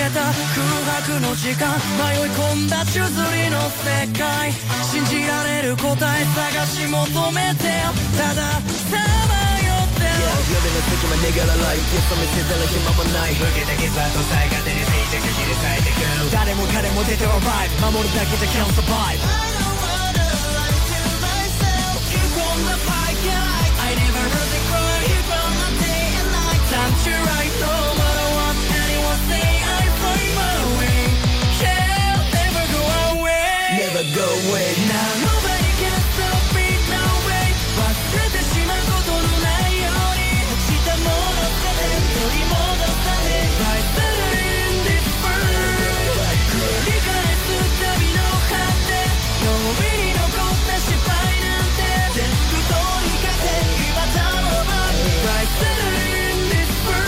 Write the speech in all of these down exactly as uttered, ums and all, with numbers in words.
た空白の時間迷い込んだ宙づりの世界信じられる答え探し求めてたださまよってる Yeah, 夜の隙間逃げらないゲスト見せたら暇もない受けた傷跡さえ勝手に静寂切り裂いてく誰も彼も出てはバイブ守るだけじゃ can't survive I don't wanna lie to myself Keep on the fight, yeah I never heard the cry Keep on the day and night Time to right no matter what anyone say I find my way Yeah, never go away Never go away Now nobody can stop me, no way 忘れてしまうことのないように落ちたもの全て取り戻され Right there in this world 繰り返す旅の果て脳裏に残った失敗なんて全部通りかけ今だろう Right there in this world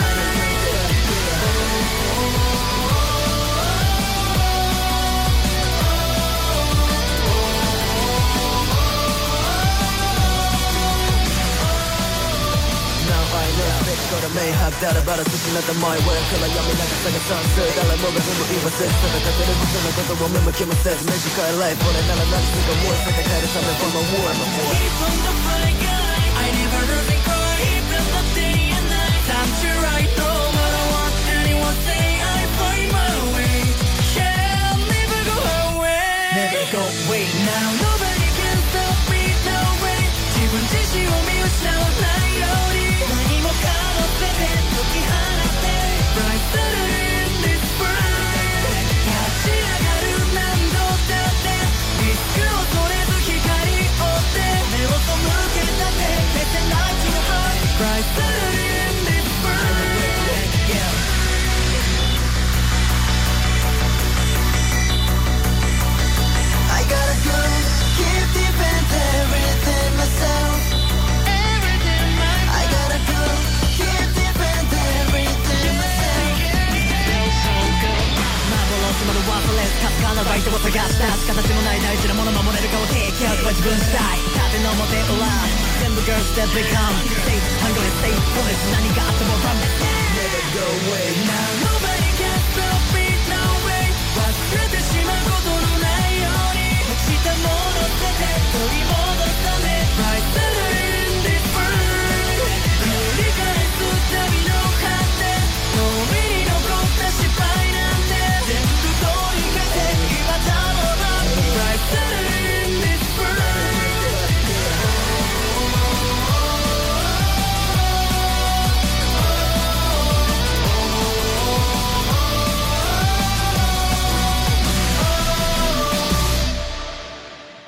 これ明白誰ばら進んだマイウェイから闇流さが賛成誰もが踏む言わせそれだけで僕のことを見向きもせず短いライフ俺なら何するかもう世界変えるため For my war my war Keep on the fight guy I never heard they cry Even the day and night Time to right no matter what anyone say I find my way Yeah never go away Never go away now Nobody can stop me no way 自分自身を見失わないように何もかも全て解き放って Right there in this world 立ち上がる何度だってリスクを恐れず光を追って目を背けたって消せない血の灰 Right there in this world yeah. I gotta go keep defending everything myselfまるワードレスかすかなライトを探した形のない大事なもの守れるかを提供は自分次第縦の表裏全部 girls that become Stay hungry stay honest 何が